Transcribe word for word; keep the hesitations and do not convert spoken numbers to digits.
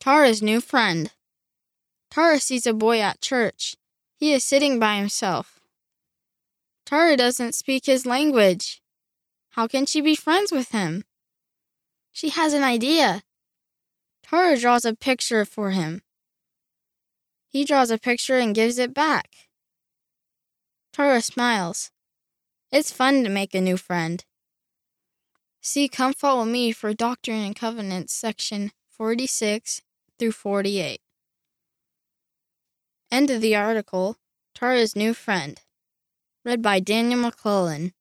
Tara's new friend. Tara sees a boy at church. He is sitting by himself. Tara doesn't speak his language. How can she be friends with him? She has an idea. Tara draws a picture for him. He draws a picture and gives it back. Tara smiles. It's fun to make a new friend. See Come Follow Me for Doctrine and Covenants, section forty-six through forty-eight. End of the article. Tara's new friend. Read by Daniel McClellan.